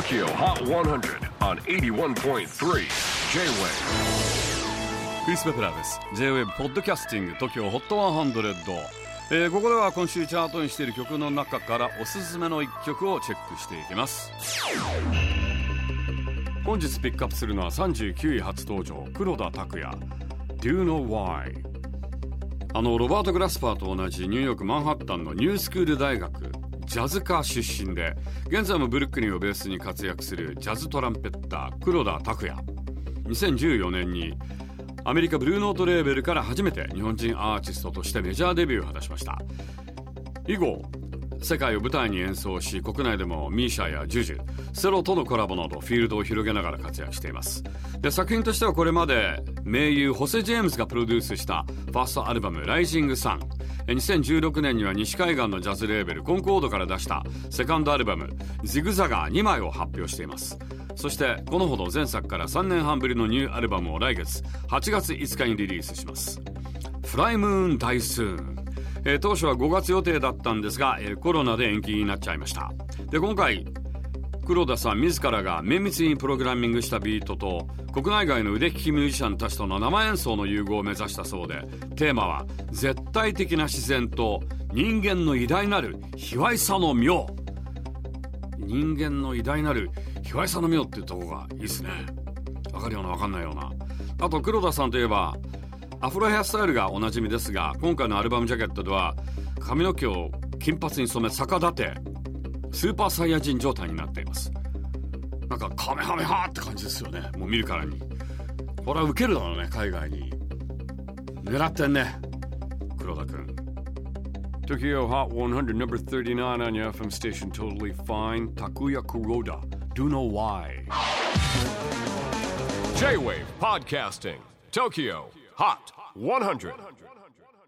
TOKYO HOT 100 on 81.3 J-WAVE クリス・ベプラーです。 J-WAVE ポッドキャスティング TOKYO HOT 100、ここでは今週チャートにしている曲の中からおすすめの一曲をチェックしていきます。本日ピックアップするのは39位初登場、黒田拓也 Do You Know Why。 ロバート・グラスパーと同じニューヨークマンハッタンのニュースクール大学ジャズ科出身で、現在もブルックリンをベースに活躍するジャズトランペッター黒田拓也。2014年にアメリカブルーノートレーベルから初めて日本人アーティストとしてメジャーデビューを果たしました。以後世界を舞台に演奏し、国内でもミーシャやジュジュ、セロとのコラボなどフィールドを広げながら活躍しています。で、作品としてはこれまで名優ホセ・ジェームズがプロデュースしたファーストアルバムライジング・サン、2016年には西海岸のジャズレーベルコンコードから出したセカンドアルバムジグザガー2枚を発表しています。そしてこのほど前作から3年半ぶりのニューアルバムを来月8月5日にリリースします。フライムーンダイスーン、当初は5月予定だったんですが、コロナで延期になっちゃいました。で、今回黒田さん自らが綿密にプログラミングしたビートと国内外の腕利きミュージシャンたちとの生演奏の融合を目指したそうで、テーマは絶対的な自然と人間の偉大なる卑猥さの妙。人間の偉大なる卑猥さの妙っていうところがいいですね。わかるようなわかんないような。あと黒田さんといえばアフロヘアスタイルがおなじみですが、今回のアルバムジャケットでは髪の毛を金髪に染め逆立てスーパーサイヤ人状態になっています。なんかカメハメハって感じですよね。もう見るからにこれはウケるだろうね。海外に狙ってんね、黒田くん。 TOKYO HOT 100 number 39 on your FM station. Totally fine. Takuya Kuroda Do You Know Why. J-WAVE Podcasting TOKYO HOT 100.